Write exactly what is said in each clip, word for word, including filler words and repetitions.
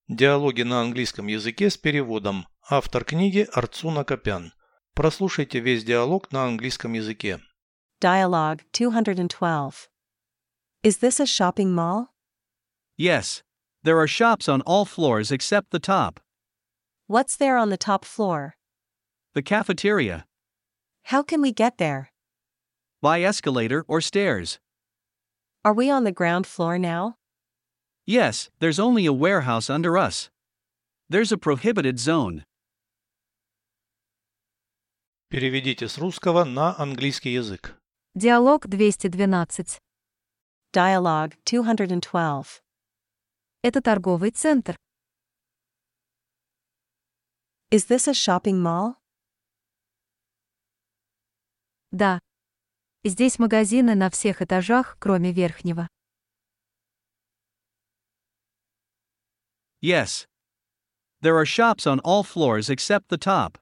Диалоги на английском языке с переводом. Автор книги Арцуна Копян. Прослушайте весь диалог на английском языке. Dialogue two hundred twelve. Is this a shopping mall? Yes. There are shops on all floors except the top. What's there on the top floor? The cafeteria. How can we get there? By escalator or stairs. Are we on the ground floor now? Yes, there's only a warehouse under us. There's a prohibited zone. Переведите с русского на английский язык. Диалог двести двенадцать. Dialogue two hundred twelve. Это торговый центр. Is this a shopping mall? Да. Здесь магазины на всех этажах, кроме верхнего. Yes. There are shops on all floors except the top.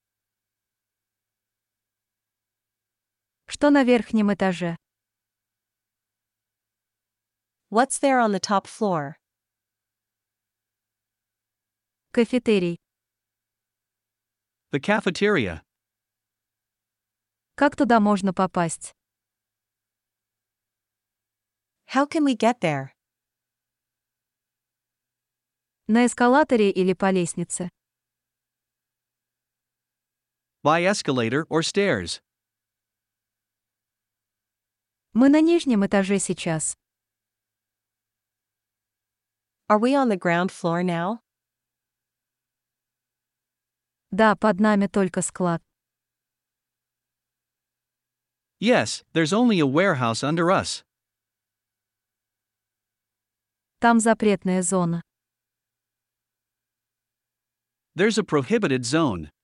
Что на верхнем этаже? What's there on the top floor? Кафетерий. The cafeteria. Как туда можно попасть? How can we get there? На эскалаторе или по лестнице? By escalator or stairs. Мы на нижнем этаже сейчас. Are we on the ground floor now? Да, под нами только склад. Yes, there's only a warehouse under us. Там запретная зона. There's a prohibited zone.